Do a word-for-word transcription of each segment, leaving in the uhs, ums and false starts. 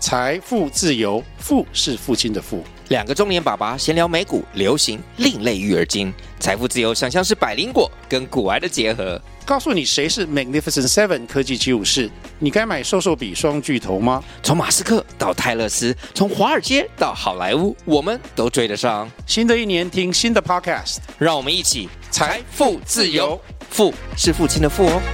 財富自由，父是父親的父。 兩個中年爸爸閒聊美股、流行、另類育兒經。財富自由想像是百靈果跟股癌的結合。 告訴你誰是 Magnificent Seven 科技七武士，你該買瘦瘦筆雙巨頭嗎？ 從馬斯克到泰勒斯，從華爾街到好萊塢，我們都追得上。 新的一年聽新的 Podcast， 讓我們一起財富自由。父是父親的父哦。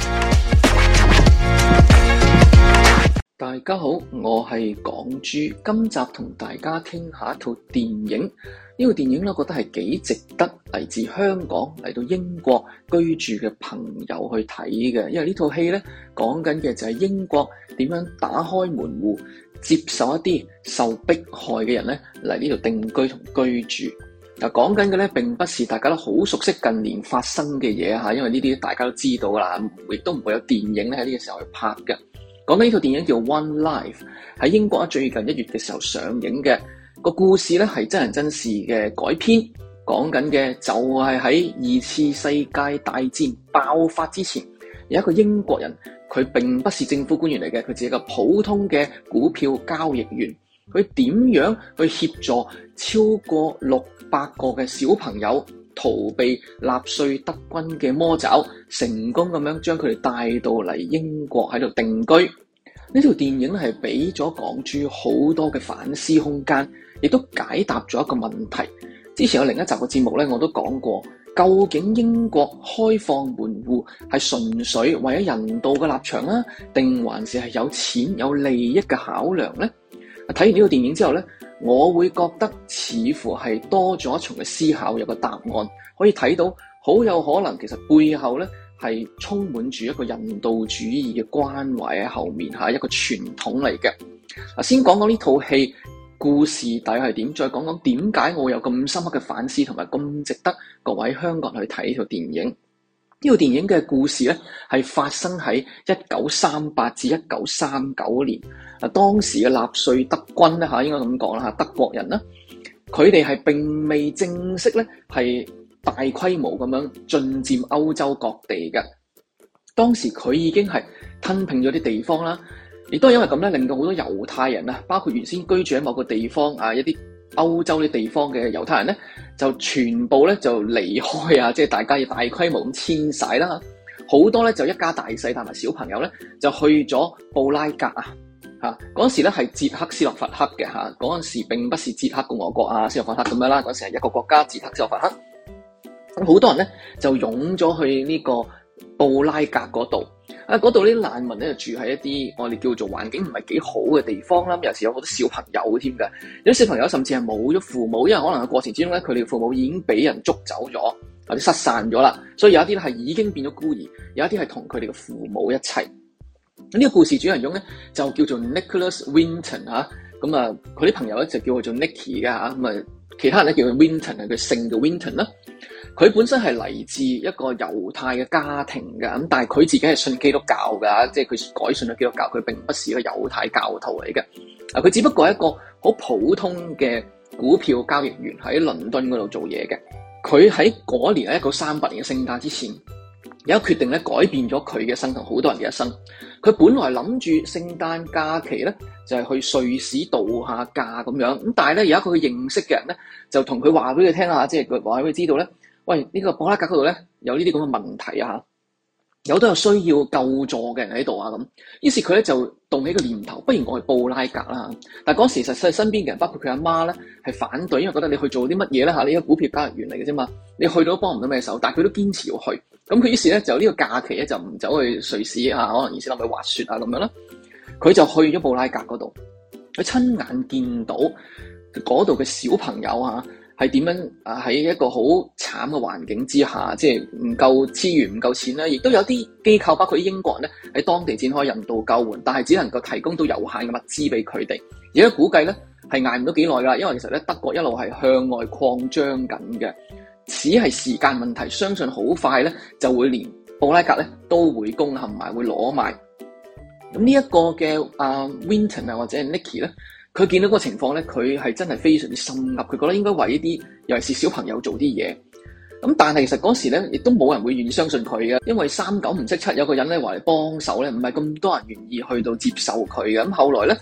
大家好，我係港豬，今集同大家傾下一套電影。呢套電影咧，我覺得係幾值得嚟自香港嚟到英國居住嘅朋友去睇嘅，因為呢套戲咧講緊嘅就係英國點樣打開門戶，接受一啲受迫害嘅人咧嚟呢度定居同居住。嗱，講緊嘅咧並不是大家都好熟悉近年發生嘅嘢吓，因為呢啲大家都知道啦，亦都唔會有電影咧喺呢個時候去拍嘅。講緊呢套電影叫 One Life， 喺英國最近一月嘅時候上映嘅。個故事咧係真人真事嘅改編，講緊嘅就係喺二次世界大戰爆發之前，有一個英國人，佢並不是政府官員嚟嘅，佢只係一個普通嘅股票交易員。佢點樣去協助超過六百個嘅小朋友逃避納粹德軍嘅魔爪，成功咁樣將佢哋帶到嚟英國喺度定居。呢條電影係俾咗港豬好多嘅反思空間，亦都解答咗一個問題。之前有另一集嘅節目咧，我都講過，究竟英國開放門戶係純粹為咗人道嘅立場啦，定還是係有錢有利益嘅考量呢？睇完呢個電影之後咧，我會覺得似乎係多咗一重嘅思考，有個答案可以睇到，好有可能其實背後咧係充滿住一個人道主義嘅關懷喺後面嚇，一個傳統嚟嘅。嗱，先講講呢套戲故事大概係點，再講講點解我有咁深刻嘅反思同埋咁值得各位香港人去睇呢套電影。呢套電影嘅故事咧係發生喺一九三八至一九三九年。啊，當時嘅納粹德軍咧嚇，應該咁講啦嚇，德國人啦，佢哋係並未正式咧係大規模咁樣進佔歐洲各地嘅。當時佢已經係吞併咗啲地方啦，亦都係因為咁咧，令到好多猶太人啊，包括原先居住喺某個地方啊一啲歐洲啲地方嘅猶太人咧，就全部咧就離開啊，即係大家要大規模咁遷徙啦。好多咧就一家大細帶埋小朋友咧就去咗布拉格啊。嚇，嗰陣時咧係捷克斯洛伐克嘅嚇，嗰陣時並不是捷克共和國啊、斯洛伐克咁樣啦，嗰陣時係一個國家捷克斯洛伐克。咁好多人咧就湧咗去呢個布拉格嗰度，啊嗰度啲難民咧就住喺一啲我哋叫做環境唔係幾好嘅地方啦，有時有好多小朋友添㗎，有啲小朋友甚至係冇咗父母，因為可能喺過程之中咧佢哋嘅父母已經俾人捉走咗或者失散咗啦，所以有一啲咧係已經變咗孤兒，有一啲係同佢哋嘅父母一齊。呢、這個故事主人翁咧就叫做 Nicholas Winton 嚇，咁啊佢啲朋友咧就叫佢做 Nicky 㗎嚇，咁啊其他人咧叫佢 Winton 係佢姓嘅 Winton 啦。佢本身係嚟自一個猶太嘅家庭㗎，咁但係佢自己係信基督教㗎，即係佢改信咗基督教，佢並不是一個猶太教徒嚟嘅。啊，佢只不過係一個好普通嘅股票交易員喺倫敦嗰度做嘢嘅。佢喺嗰年喺一九三八年嘅聖誕之前，有一決定咧改變咗佢嘅一生同好多人嘅一生。佢本來諗住聖誕假期咧就係、是、去瑞士度下假咁樣，咁但係咧有一個佢認識嘅人咧就同佢話俾佢聽下，即係佢話俾佢知道咧，喂呢、這個布拉格嗰度咧有呢啲咁嘅問題啊，有好多有需要救助嘅人喺度啊咁。於是佢咧就動起個念頭，不如我去布拉格啦。但係嗰時實際身邊嘅人，包括佢阿媽咧係反對，因為覺得你去做啲乜嘢咧嚇？你一個股票交易員嚟嘅啫嘛，你去到都幫唔到咩手。但係佢都堅持要去。咁佢於是咧就呢個假期咧就唔走去瑞士啊，可能而是諗去滑雪啊咁樣啦。佢就去咗布拉格嗰度，佢親眼見到嗰度嘅小朋友啊係點樣啊喺一個好慘嘅環境之下，即係唔夠資源唔夠錢啦，亦都有啲機構包括啲英國人咧喺當地展開人道救援，但係只能夠提供到有限嘅物資俾佢哋。而家估計咧係捱唔到幾耐㗎啦，因為其實咧德國一路係向外擴張緊嘅。只係時間問題，相信好快咧就會連布拉格咧都會攻陷埋，會攞埋。咁呢一個嘅阿、uh, Winton 啊或者係 Nicky 咧，佢見到嗰個情況咧，佢係真係非常之心急，佢覺得應該為呢啲尤其是小朋友做啲嘢。咁但係其實嗰時咧，亦都冇人會願意相信佢嘅，因為三九唔識七，有個人咧話嚟幫手咧，唔係咁多人願意去到接受佢嘅。咁後來咧，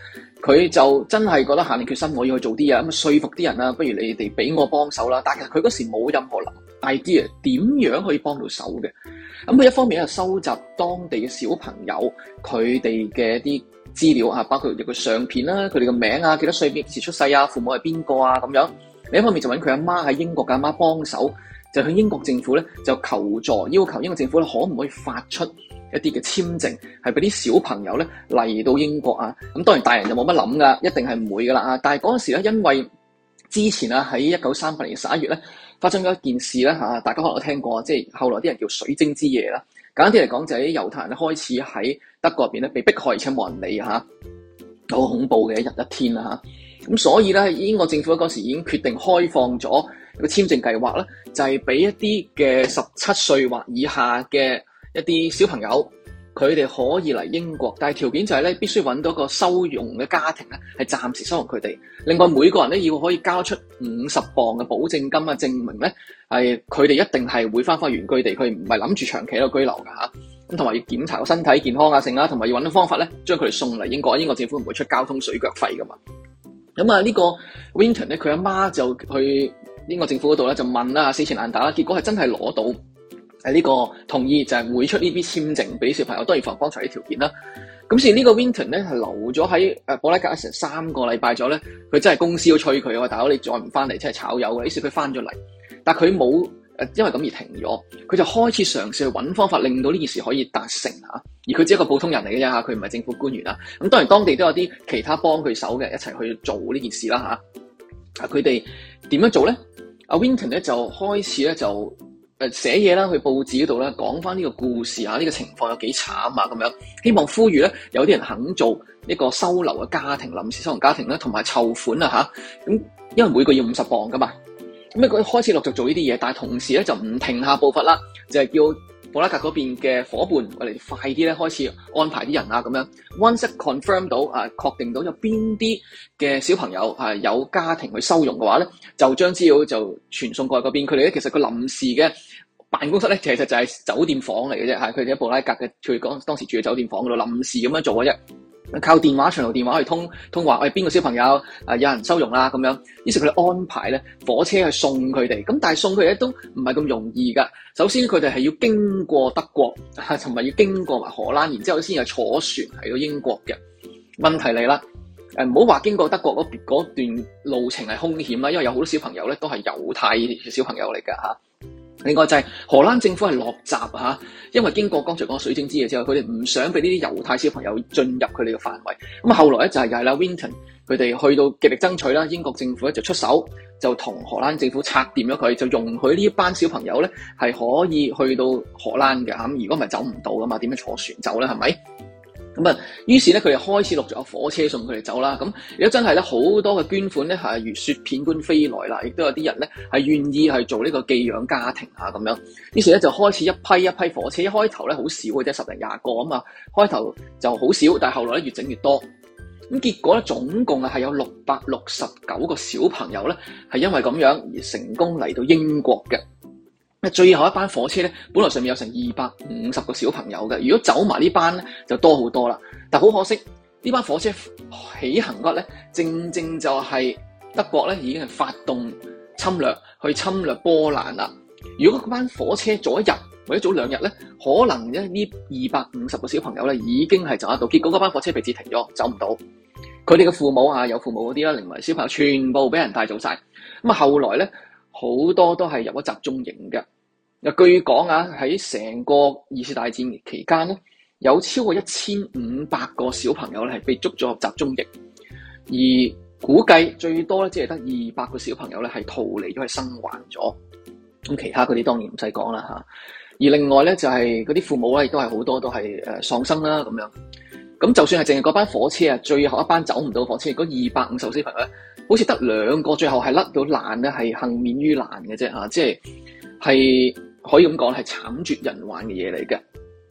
佢就真係覺得下定決心我要去做啲嘢，咁啊說服啲人啊，不如你哋俾我幫手啦。但係其實佢嗰時冇任何 idea 點樣可以幫到手嘅。咁佢一方面咧收集當地嘅小朋友佢哋嘅一啲資料啊，包括佢個相片啦、佢哋嘅名啊、幾多歲、幾時出世啊、父母係邊個啊咁樣。另一方面就揾佢阿媽喺英國嘅阿媽幫手，就向英國政府咧就求助，要求英國政府咧可唔可以發出一啲嘅簽證，係俾啲小朋友咧嚟到英國啊。咁當然大人就冇乜諗噶，一定係唔會噶啦啊。但係嗰陣時咧，因為之前啊喺一九三八年十一月咧發生咗一件事咧嚇，大家可能都聽過，即係後來啲人叫水晶之夜啦。簡單啲嚟講，就係啲猶太人咧開始喺德國入邊咧被迫害，而且冇人理嚇，好恐怖嘅一日一天啦嚇。咁所以咧，英國政府嗰時已經決定開放咗一個簽證計劃啦，就係俾一啲嘅十七歲或以下嘅一啲小朋友，佢哋可以嚟英國，但係條件就係咧必須揾到一個收容嘅家庭咧，係暫時收容佢哋。另外每個人咧要可以交出五十磅嘅保證金啊，證明咧係佢哋一定係會翻返原居地，佢唔係諗住長期喺度居留㗎嚇。咁同埋要檢查個身體健康啊，剩啦，同埋要揾到方法咧將佢哋送嚟英國。英國政府唔會出交通水腳費㗎嘛。咁啊，呢個 Winton 咧，佢阿媽就去英國政府嗰度咧，就問啦，死纏爛打啦，結果係真係攞到誒呢個同意，就係會出呢啲簽證俾小朋友，當然符合剛才啲條件啦。咁所以呢個 Winton 咧係留咗喺誒布拉格成三個禮拜咗咧，佢真係公司都催佢啊，大佬你再唔翻嚟，真係炒魷嘅。於是佢翻咗嚟，但係佢冇誒因為咁而停咗，佢就開始嘗試去揾方法令到呢件事可以達成嚇。而佢只係一個普通人嚟嘅啫嚇，佢唔係政府官員啦。咁當然當地都有啲其他幫佢手嘅一齊去做呢件事啦嚇。啊，佢哋點樣做咧？阿 Winton 咧就開始咧就誒寫嘢啦，去報紙嗰度咧講翻呢個故事啊，呢個情況有幾慘啊咁樣，希望呼籲咧有啲人肯做呢個收留嘅家庭、臨時收容家庭咧，同埋籌款啊嚇。咁因為每個要五十磅噶嘛。咁佢開始陸續做呢啲嘢，但係同時咧就唔停下步伐啦，就係叫布拉格嗰邊嘅伙伴，我哋快啲咧開始安排啲人啊咁樣。Once confirm 到啊，確定到有邊啲嘅小朋友係有家庭去收容嘅話咧，就將資料就傳送過去嗰邊。佢哋咧其實個臨時嘅辦公室咧，其實就係酒店房嚟嘅啫，係佢哋喺布拉格嘅，佢講當時住嘅酒店房嗰度臨時咁樣做嘅啫。靠電話長途電話去通通話，喂邊個小朋友啊有人收容啦咁樣，於是佢哋安排咧火車去送佢哋，咁但係送佢哋咧都唔係咁容易噶。首先佢哋係要經過德國，同埋要經過埋荷蘭，然之後先係坐船嚟到英國嘅。問題嚟啦，誒唔好話經過德國嗰嗰段路程係兇險啦，因為有好多小朋友咧都係猶太嘅小朋友嚟噶嚇。另外就係荷蘭政府係落閘嚇，因為經過剛才講水晶之夜之後，佢哋唔想俾呢啲猶太小朋友進入佢哋嘅範圍。咁啊，後來咧就係又係啦 Winton 佢哋去到極力爭取啦，英國政府咧就出手，就同荷蘭政府拆掂咗佢，就容許呢一班小朋友咧係可以去到荷蘭嘅嚇。咁如果唔係走唔到噶嘛，點樣坐船走咧？係咪？咁啊，於是咧佢哋開始陸續有火車送佢哋走啦。咁如果真係咧好多嘅捐款咧係如雪片般飛來啦，亦都有啲人咧係願意去做呢個寄養家庭啊咁樣。於是咧就開始一批一批火車，一開頭咧好少嘅啫，十零廿個啊嘛。開頭就好少，但係後來咧越整越多。咁結果咧總共啊係有六百六十九個小朋友咧係因為咁樣而成功嚟到英國嘅。最後一班火車咧，本來上面有成二百五十個小朋友嘅，如果走埋呢班咧，就多好多啦。但好可惜，呢班火車起行嗰日咧，正正就係德國咧已經係發動侵略，去侵略波蘭啦。如果嗰班火車早一日或者早兩日咧，可能咧呢二百五十個小朋友咧已經係走得到。結果嗰班火車被截停咗，走唔到。佢哋嘅父母啊，有父母嗰啲啦，另外小朋友全部俾人帶走晒。咁啊，後來咧好多都係入咗集中營嘅。又據講啊，喺成個二次大戰期間咧，有超過一千五百個小朋友咧係被捉咗入集中營，而估計最多咧只係得二百個小朋友咧係逃離咗，係生還咗。咁其他嗰啲當然唔使講啦嚇。而另外咧就係嗰啲父母咧亦都係好多都係誒喪生啦咁樣。咁就算係淨係嗰班火車啊，最後一班走唔到火車，嗰二百五十個小朋友咧，好似得兩個最後係甩到爛咧，係幸免於難嘅啫嚇，即係係。可以咁講係慘絕人寰嘅嘢嚟嘅。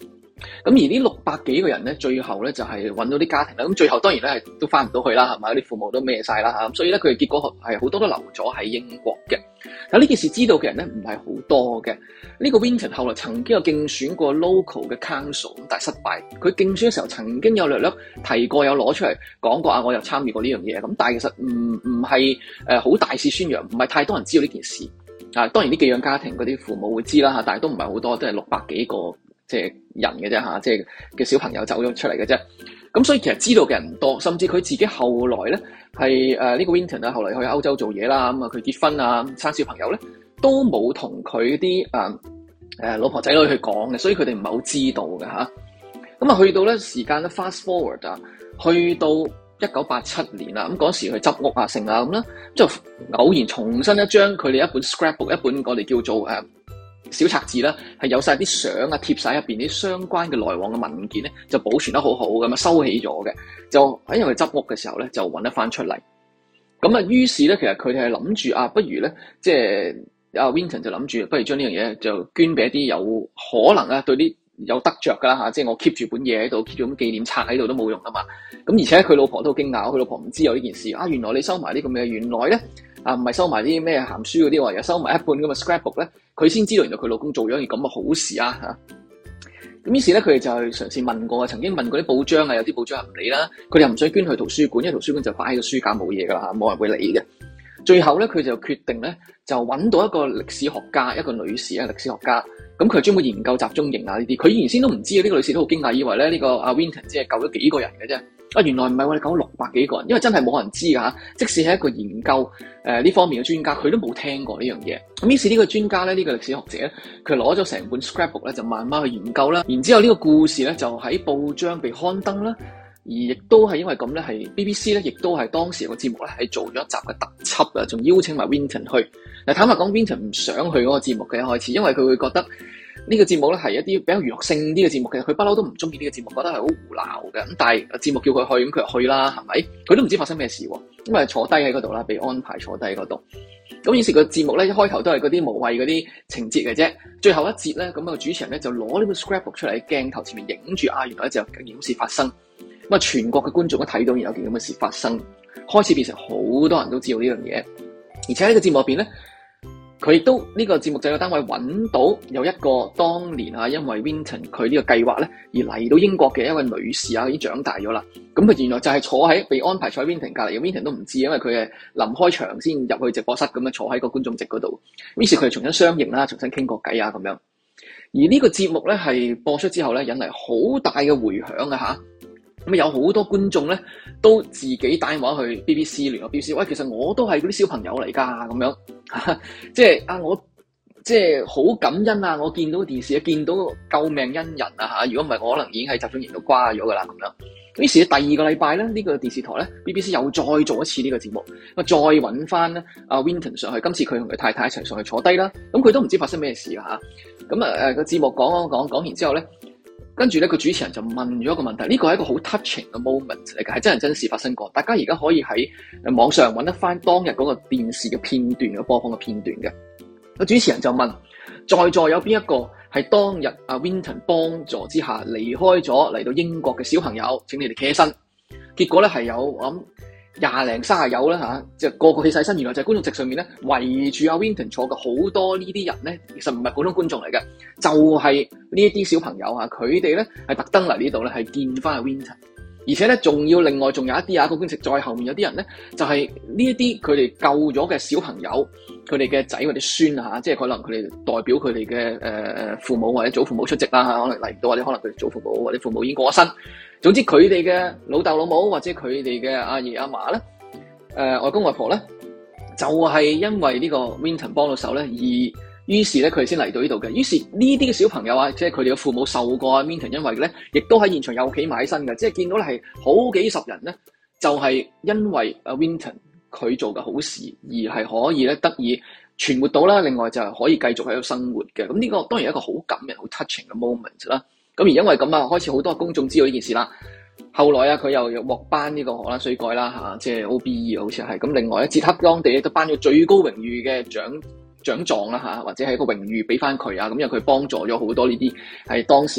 咁而呢六百幾個人咧，最後咧就係揾到啲家庭啦。咁最後當然咧係都翻唔到去啦，係咪？啲父母都孭晒啦嚇。咁所以咧佢哋結果係好多都留咗喺英國嘅。但呢件事知道嘅人咧唔係好多嘅。呢個 Winton 後來曾經有競選過 local 嘅 council， 咁但係失敗。佢競選嘅時候曾經有略略提過，有攞出嚟講過啊，我有參與過呢樣嘢。咁但係其實唔唔係誒好大肆宣揚，唔係太多人知道呢件事。啊，當然啲寄養家庭嗰啲父母會知啦嚇，但係都唔係好多，都係六百幾個即係人嘅啫嚇，即係嘅小朋友走咗出嚟嘅啫。咁所以其實知道嘅人唔多，甚至佢自己後來咧係誒呢個 Winton 啊，後來去歐洲做嘢啦，咁啊佢結婚啊生小朋友咧都冇同佢啲誒誒老婆仔女去講嘅，所以佢哋唔係好知道嘅嚇。咁啊去到咧時間咧 fast forward 啊，去到一九八七年啦，咁嗰時去執屋啊成啊咁啦，就偶然重新一張佢哋一本 scrapbook， 一本我哋叫做誒、呃、小冊子啦，係有晒啲相啊貼晒入邊啲相關嘅來往嘅文件咧，就保存得好好咁啊收起咗嘅，就喺因為執屋嘅時候咧就揾得翻出嚟。咁啊於是咧其實佢哋係諗住啊，不如咧即係阿 Winton 就諗住，不如將呢樣嘢就捐俾一啲有可能啊對啲有得着噶啦吓，即係我 keep 住本嘢喺度 keep 住咁紀念冊喺度都冇用噶嘛。咁而且佢老婆都好驚訝，佢老婆唔知有呢件事啊。原來你收埋啲咁嘅，原來咧啊唔係收埋啲咩鹹書嗰啲喎，又收埋一本咁嘅 scrapbook 咧，佢先知道原來佢老公做咗件咁嘅好事啊吓。咁於是咧佢哋就嘗試問過，曾經問過啲報章啊，有啲報章唔理啦，佢哋又唔想捐去圖書館，因為圖書館就擺喺個書架冇嘢噶啦，冇人會理嘅。最後咧佢就決定咧就揾到一個歷史學家，一個女士啊，歷史學家。咁佢專門研究集中營啊呢啲，佢原先都唔知啊，呢、這個女士都好驚訝，以為咧呢、這個阿 Winton 只係救咗幾個人嘅啫。啊，原來唔係，我哋救咗六百幾個人，因為真係冇人知噶吓。即使係一個研究誒呢、呃、方面嘅專家，佢都冇聽過呢樣嘢。咁於是呢個專家咧，呢、這個歷史學者咧，佢攞咗成本 scrapbook 咧，就慢慢去研究啦。然之後呢個故事咧，就喺報章被刊登啦。而亦都係因為咁咧，係 B B C 咧，亦都係當時個節目咧，係做咗一集嘅特輯啊，仲邀請埋 Winton 去。嗱，坦白講 Winton 唔想去嗰個節目嘅一開始，因為佢會覺得呢個節目咧係一啲比較娛樂性啲嘅節目嘅，佢不嬲都唔中意呢個節目，覺得係好胡鬧嘅。咁但係節目叫佢去，咁佢就去啦，係咪？佢都唔知發生咩事喎，因為坐低喺嗰度啦，被安排坐低喺嗰度。咁於是個節目咧一開頭都係嗰啲無謂嗰啲情節嘅啫，最後一節咧，咁個主持人咧就攞呢個 scrapbook 出嚟喺鏡頭前面影住啊，原來就有件事發生。咁啊，全國嘅觀眾都睇到有件咁嘅事發生，開始變成好多人都知道呢樣嘢。而且喺呢個節目入邊咧，佢亦都呢個節目製作單位揾到有一個當年啊，因為 Winton 佢呢個計劃咧而嚟到英國嘅一位女士啊，已經長大咗啦。咁佢原來就係坐喺被安排坐喺 Winton 隔離嘅 Winton 都唔知，因為佢係臨開場先入去直播室咁樣坐喺個觀眾席嗰度。於是佢哋重新相認啦，重新傾過偈啊咁樣。而呢個節目咧係播出之後咧，引嚟好大嘅迴響啊嚇。咁有好多觀眾咧，都自己打電話去 B B C 聯絡 B B C，喂，其實我都係嗰啲小朋友嚟㗎，咁樣，即係啊，我即係好感恩啊！我見到電視，見到救命恩人啊嚇！如果唔係，我可能已經喺集中營度瓜咗㗎啦，咁樣。於是第二個禮拜咧，呢、這個電視台咧 B B C 又再做一次呢個節目，咁再揾翻咧阿 Winton 上去，今次佢同佢太太一齊上去坐低啦。咁佢都唔知發生咩事啊嚇！咁啊誒個節目講講講講完之後咧。跟住咧，個主持人就問咗一個問題，呢個係一個好 touching 嘅 moment 嚟嘅，係真人真事發生過。大家而家可以喺網上揾得翻當日嗰個電視嘅片段嘅播放嘅片段嘅。個主持人就問：在座有邊一個係當日阿 Winton 幫助之下離開咗嚟到英國嘅小朋友？請你哋企起身。結果咧係有我諗廿零卅友啦嚇，即係個個企晒身。原來就係觀眾席上面咧圍住阿 Winton 坐嘅好多呢啲人咧，其實唔係普通觀眾嚟嘅，就係呢一啲小朋友嚇，佢哋咧係特登嚟呢度咧係見翻阿 Winton，而且咧仲要另外仲有一啲啊個觀眾席再後面有啲人咧就係呢一啲佢哋救咗嘅小朋友，佢哋嘅仔或者孫啊嚇，即係可能佢哋代表佢哋嘅誒父母或者祖父母出席啦嚇，可能嚟唔到或者可能佢哋祖父母或者父母已經過咗身。總之佢哋嘅老豆老母或者佢哋嘅阿爺阿嫲咧，誒、呃、外公外婆咧，就係、是、因為呢個 Winton 幫到手咧，而於是咧佢哋先嚟到呢度嘅。於是呢啲嘅小朋友啊，即係佢哋嘅父母受過啊 Winton 因為咧，亦都喺現場又企埋起身嘅，即係見到咧係好幾十人咧，就係、是、因為阿 Winton 佢做嘅好事，而係可以咧得以存活到啦。另外就係可以繼續喺度生活嘅。咁呢個當然係一個好感人、好 touching 嘅 moment 啦。咁而因為咁啊，開始好多公眾知道呢件事啦。後來啊，佢又又獲頒呢個荷蘭水蓋啦嚇，即係 O B E 好似係。咁另外咧，捷克當地咧都頒咗最高榮譽嘅獎獎狀啦嚇，或者係一個榮譽俾翻佢啊。咁因為佢幫助咗好多呢啲係當時啊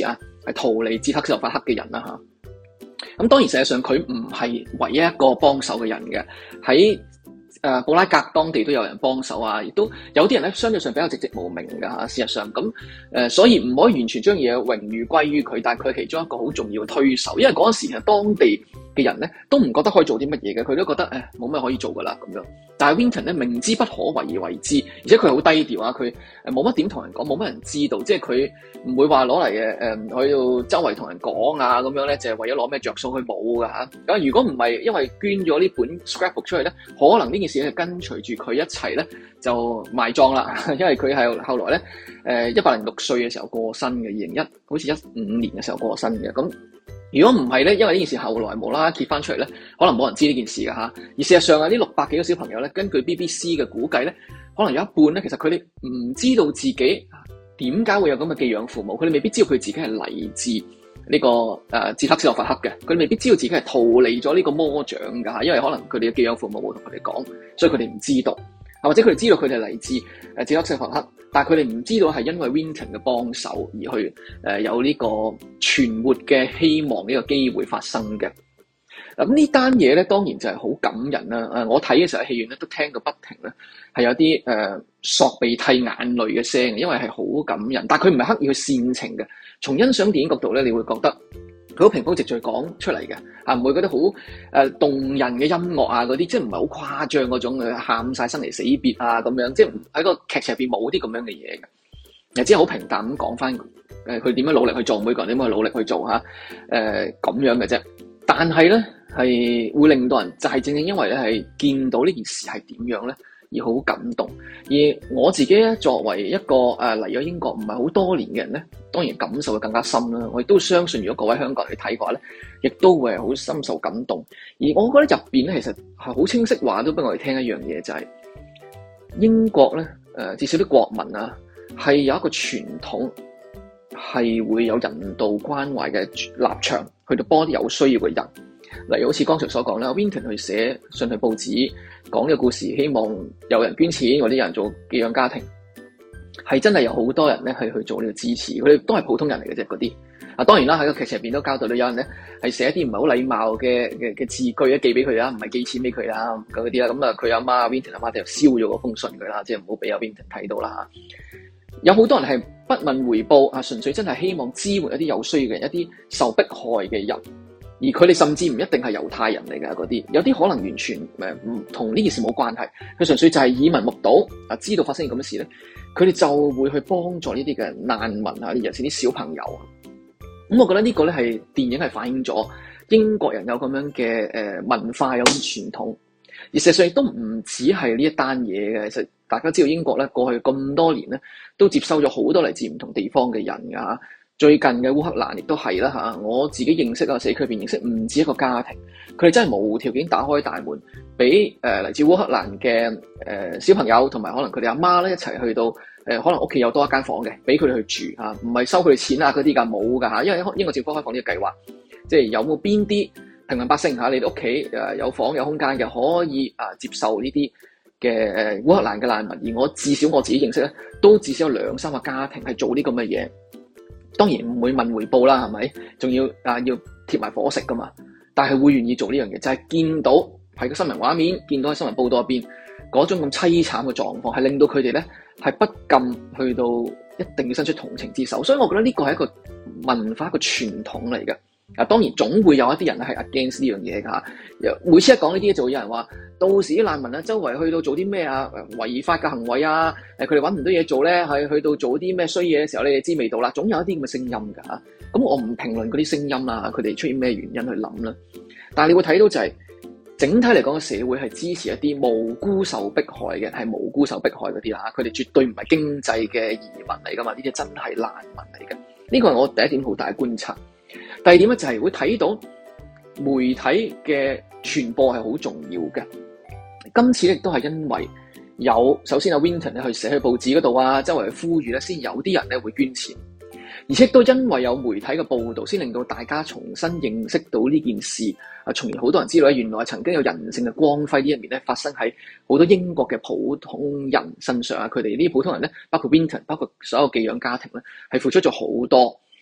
係逃離捷克斯洛伐克嘅人啦嚇。咁當然，實際上佢唔係唯一一個幫手嘅人嘅，喺誒、呃、布拉格當地都有人幫手啊，亦都有啲人咧相對上比較籍籍無名㗎嚇。事實上咁誒、呃，所以唔可以完全將嘢榮譽歸於佢，但係佢係其中一個好重要嘅推手，因為嗰陣時其實當地嘅人咧都唔覺得可以做啲乜嘢嘅，佢都覺得誒冇咩可以做㗎啦咁樣。但係 Winton 咧明知不可為而為之，而且佢係好低調啊，佢誒冇乜點同人講，冇乜人知道，即係佢唔會話攞嚟嘅誒去到周圍同人講啊咁樣咧，就係為咗攞咩着數，佢冇㗎嚇。咁如果唔係因為捐咗呢本 scrapbook 出去咧，可能呢件事咧跟隨住佢一齊咧就埋葬啦，因為佢係後來咧誒一百零六歲嘅時候過身嘅，二零一好似一五年嘅時候過身嘅咁。如果唔係咧，因為呢件事後來無啦啦揭翻出嚟咧，可能冇人知呢件事㗎吓。而事實上啊，呢六百幾個小朋友咧，根據 B B C 嘅估計咧，可能有一半咧，其實佢哋唔知道自己點解會有咁嘅寄養父母，佢哋未必知道佢自己係嚟自呢個誒捷克斯洛伐克嘅，佢哋未必知道自己係逃離咗呢個魔掌㗎吓，因為可能佢哋嘅寄養父母冇同佢哋講，所以佢哋唔知道。或者佢哋知道佢哋嚟自誒捷克斯洛伐克，但係佢哋唔知道係因為 Winton 嘅幫手而去誒、呃、有呢個存活嘅希望呢個機會發生嘅。咁呢單嘢咧，當然就係好感人啦。誒，我睇嘅時候喺戲院咧都聽到不停咧，係有啲誒、呃、索鼻涕眼淚嘅聲，因為係好感人。但係佢唔係刻意去煽情嘅，從欣賞電影角度咧，你會覺得佢好平鋪直敘講出嚟嘅，啊唔會覺得好誒、呃、動人嘅音樂啊嗰啲，即係唔係好誇張嗰種嘅喊晒生離死別啊咁樣，即係喺個劇情入邊冇啲咁樣嘅嘢嘅，又只係好平淡咁講翻誒佢點樣努力去做，每個人點樣去努力去做嚇誒咁樣嘅啫。但係咧係會令到人就係、是、正正因為咧係見到呢件事係點樣咧而好感動。而我自己咧作為一個誒嚟咗英國唔係好多年嘅人咧，當然感受會更加深啦。我亦都相信，如果各位香港人去睇嘅話咧，亦都會係好深受感動。而我覺得入邊咧，其實係好清晰話都俾我哋聽一樣嘢，就係、是、英國咧誒、呃，至少啲國民啊，係有一個傳統，係會有人道關懷嘅立場，去到幫啲有需要嘅人。例如好似剛才所講啦 Winton 去寫信去報紙講嘅故事，希望有人捐錢或者有人做寄養家庭，係真係有好多人咧係去做呢個支持，佢哋都係普通人嚟嘅啫嗰啲。啊當然啦，喺個劇情入邊都交代到有人咧係寫一啲唔係好禮貌嘅嘅嘅字句咧寄俾佢啦，唔係寄錢俾佢啦嗰啲啦。咁啊佢阿媽 Winton 阿媽就燒咗嗰封信佢啦，即係唔好俾阿 Winton 睇到啦。有好多人係不問回報啊，純粹真係希望支援一啲有需要嘅人，一啲受迫害嘅人。而佢哋甚至唔一定係猶太人嚟嘅嗰啲，有啲可能完全誒唔同呢件事冇關係，佢純粹就係耳聞目睹啊，知道發生咁嘅事咧，佢哋就會去幫助呢啲嘅難民啊，尤其是啲小朋友啊。咁我覺得呢個咧係電影係反映咗英國人有咁樣嘅誒文化，有啲傳統。而事實上亦都唔止係呢一單嘢嘅，其實大家知道英國咧過去咁多年咧都接收咗好多嚟自唔同地方嘅人㗎嚇。最近嘅烏克蘭亦都係啦嚇，我自己認識啊，社區入邊認識唔止一個家庭，佢哋真係無條件打開大門，俾誒嚟自烏克蘭嘅誒、呃、小朋友同埋可能佢哋阿媽咧一齊去到誒、呃，可能屋企有多一間房嘅，俾佢哋去住嚇，唔係收佢哋錢啊嗰啲㗎，冇㗎嚇，因為英國政府開放呢個計劃，即係有冇邊啲平民百姓嚇，你哋屋企誒有房有空間嘅，可以啊接受呢啲嘅誒烏克蘭嘅難民，而我至少我自己認識咧，都至少有兩三個家庭係做啲咁嘅嘢。當然唔會問回報啦，係咪？仲要啊要貼埋伙食噶嘛？但係會願意做呢樣嘢，就係、是、見到喺個新聞畫面，見到喺新聞報道入邊嗰種咁淒慘嘅狀況，係令到佢哋咧係不禁去到一定要伸出同情之手。所以我覺得呢個係一個文化一個傳統嚟嘅。啊，當然總會有一啲人係 against 呢樣嘢㗎。每次一講呢啲，就會有人話，到時啲難民啊，周圍去到做啲咩啊，違法嘅行為啊，誒佢哋揾唔到嘢做咧，係去到做啲咩衰嘢嘅時候，你哋知味道啦。總有一啲咁嘅聲音㗎嚇。咁我唔評論嗰啲聲音啦，佢哋出現咩原因去諗啦。但係你會睇到就係、是、整體嚟講，社會係支持一啲無辜受迫害嘅，係無辜受迫害嗰啲啦。佢哋絕對唔係經濟嘅移民嚟㗎嘛，呢啲真係難民嚟嘅。呢個係我第一點好大嘅觀察。第二點咧就係會睇到媒體嘅傳播係好重要嘅。今次亦都係因為有首先阿 Winton 咧去寫去報紙嗰度啊，周圍去呼籲咧，先有啲人咧會捐錢，而且都因為有媒體嘅報導，先令到大家重新認識到呢件事啊，從而好多人知道咧，原來曾經有人性嘅光輝呢一面咧發生喺好多英國嘅普通人身上啊。佢哋呢啲普通人咧，包括 Winton，包括所有寄養家庭咧，係付出咗好多。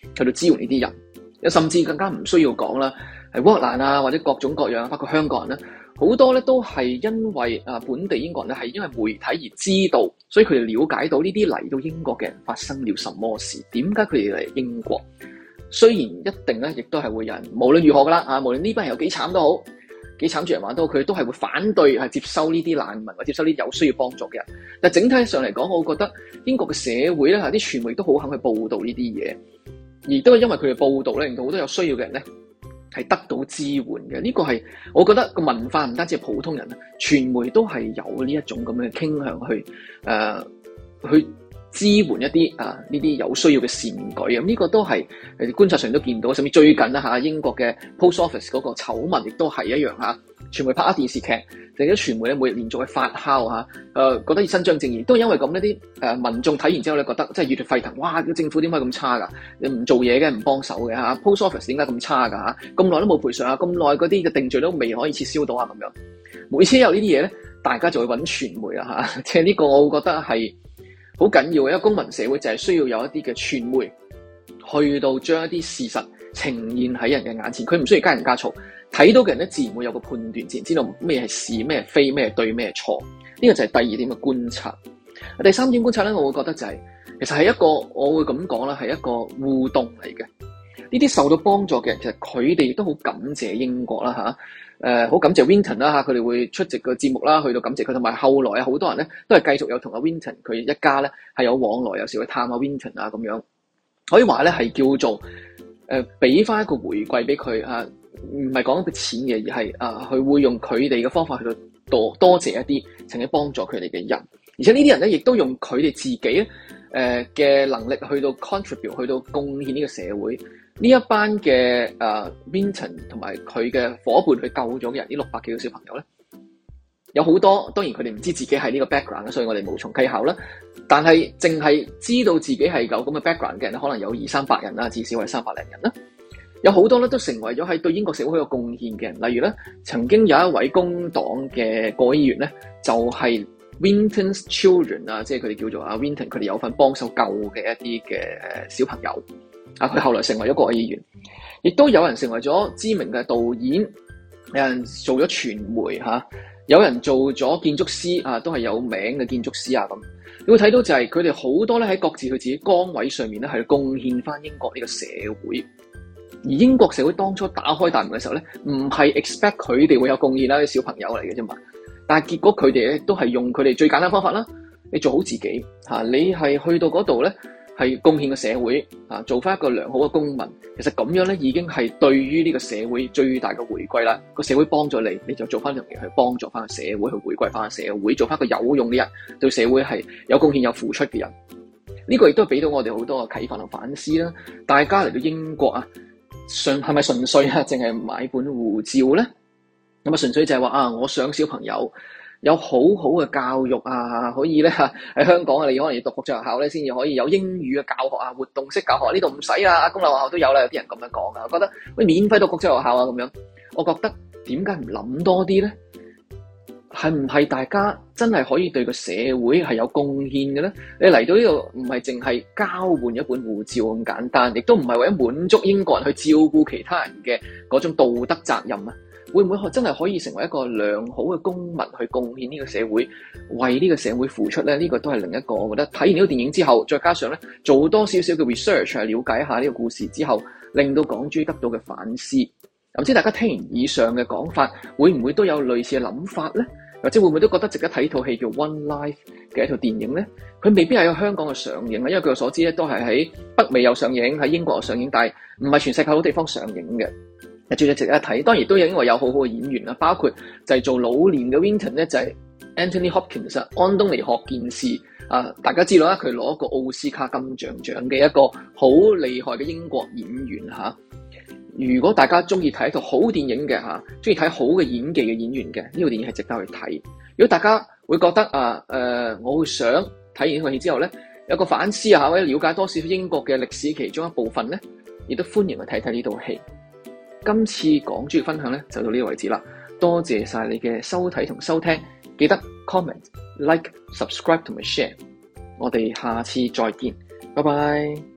去到支援呢啲人，甚至更加唔需要講啦，係烏克蘭啊或者各種各樣，包括香港人咧，好多咧都係因為啊本地英國人咧係因為媒體而知道，所以佢哋了解到呢啲嚟到英國嘅人發生了什麼事，點解佢哋嚟英國。雖然一定咧，亦都係會有人無論如何噶啦啊，無論呢班人有幾慘都好，幾慘住人玩都好，佢都係會反對係接收呢啲難民或者接收呢啲有需要幫助嘅人。但整體上嚟講，我覺得英國嘅社會咧，啲傳媒都好肯去報導呢啲嘢，而都係因為佢哋報導咧，令到好多有需要嘅人咧係得到支援嘅。呢個係我覺得個文化唔單止係普通人啊，傳媒都係有呢一種咁嘅傾向去誒、呃、去。支援一啲啊呢啲有需要嘅善舉，咁、這、呢個都係誒觀察上都見到，甚至最近啦嚇英國嘅 Post Office 嗰個醜聞亦都係一樣嚇，傳媒拍咗電視劇，或者傳媒咧每日連續去發酵嚇，誒、呃、覺得要伸張正義，都係因為咁呢啲誒民眾睇完之後咧覺得真係熱血沸騰，哇！政府點解咁差㗎？你唔做嘢嘅，唔幫手嘅嚇 Post Office 點解咁差㗎嚇？咁耐都冇賠償啊，咁耐嗰啲嘅定罪都未可以撤銷到啊咁樣，每次有呢啲嘢咧，大家就會揾傳媒啦嚇，即係呢個我會覺得係。好緊要嘅，一個公民社會就係需要有一啲嘅傳媒去到將一啲事實呈現喺人嘅眼前，佢唔需要加鹽加醋，睇到嘅人咧自然會有個判斷，自然知道咩係是咩係非，咩係對咩係錯。呢個就係第二點嘅觀察。第三點觀察咧，我會覺得就係、是、其實係一個我會咁講啦，係一個互動嚟嘅。呢啲受到幫助嘅人，其實佢哋都好感謝英國啦嚇。誒好、呃、感謝 Winton 啦嚇，佢哋會出席個節目啦，去到感謝佢，同埋後來啊好多人咧都係繼續有同阿 Winton 佢一家咧係有往來，有時會探下 Winton 啊咁樣，可以話咧係叫做誒俾翻一個回饋俾佢嚇，唔係講一筆錢嘅，而係啊佢會用佢哋嘅方法去到多多謝一啲曾經幫助佢哋嘅人，而且呢啲人咧亦都用佢哋自己誒嘅、呃、能力去到 contribute 去到貢獻呢個社會。呢一班嘅誒 Winton 同埋佢嘅夥伴去救咗嘅人，呢六百幾個小朋友咧，有好多當然佢哋唔知自己係呢個 background，所以我哋無從稽考啦。但係淨係知道自己係有咁嘅 background 嘅人，可能有二三百人啦，至少係三百零人啦。有好多咧都成為咗喺對英國社會有貢獻嘅人，例如咧曾經有一位工黨嘅國會議員咧，就係、是、Winton's Children 啊，即係佢哋叫做阿 Winton，佢哋有份幫手救嘅一啲嘅小朋友。啊！佢後來成為咗國會議員，亦都有人成為咗知名嘅導演，有人做咗傳媒嚇、啊，有人做咗建築師啊，都係有名嘅建築師啊咁。你會睇到就係佢哋好多咧喺各自佢自己崗位上面咧係貢獻翻英國呢個社會。而英國社會當初打開大門嘅時候咧，唔係 expect 佢哋會有貢獻啦，啲小朋友嚟嘅啫嘛。但係結果佢哋咧都係用佢哋最簡單方法啦，你做好自己嚇、啊，你係去到嗰度咧。係貢獻個社會啊，做翻一個良好嘅公民。其實咁樣咧，已經係對於呢個社會最大嘅回饋啦。個社會幫咗你，你就做翻樣嘢去幫助翻個社會，去回饋翻個社會，做翻個有用嘅人，對社會係有貢獻、有付出嘅人。呢個亦都俾到我哋好多嘅啟發同反思啦。大家嚟到英國啊，純係咪純粹啊，淨係買本護照咧？咁啊，純粹就係話啊，我想小朋友有好好嘅教育啊，可以咧喺香港啊，你可能要讀國際學校咧，先至可以有英語嘅教學啊，活動式教學呢度唔使啊，公立學校都有啦，有啲人咁樣講啊，我覺得喂免費讀國際學校啊咁樣，我覺得點解唔諗多啲咧？係唔係大家真係可以對個社會係有貢獻嘅咧？你嚟到呢度唔係淨係交換一本護照咁簡單，亦都唔係為咗滿足英國人去照顧其他人嘅嗰種道德責任啊！會唔會真係可以成為一個良好嘅公民去貢獻呢個社會，為呢個社會付出咧？呢個都係另一個，我覺得睇完呢個電影之後，再加上咧做多少少嘅 research 去了解一下呢個故事之後，令到港豬得到嘅反思。唔知大家聽完以上嘅講法，會唔會都有類似嘅諗法咧？或者會唔會都覺得值得睇套戲叫 One Life 嘅一套電影咧？佢未必係喺香港嘅上映啊，因為據我所知咧，都係喺北美有上映，喺英國有上映，但係唔係全世界好多地方上映嘅。最值得一睇，當然都有因為有好好嘅演員啦，包括就係做老年嘅 Winton 咧，就係 Anthony Hopkins 安東尼·霍健士啊，大家知道啦，佢攞個奧斯卡金像獎嘅一個好厲害嘅英國演員嚇、啊。如果大家中意睇一套好電影嘅嚇，中意睇好嘅演技嘅演員嘅，呢套電影係值得去睇。如果大家會覺得啊誒、呃，我會想睇完呢套戲之後咧，有個反思啊，或者了解多少少英國嘅歷史其中一部分咧，亦都歡迎去睇睇呢套戲。今次港豬嘅分享咧就到呢個位置啦，多謝晒你嘅收睇同收聽，記得 comment、like、subscribe 同埋 share，我哋下次再見，拜拜。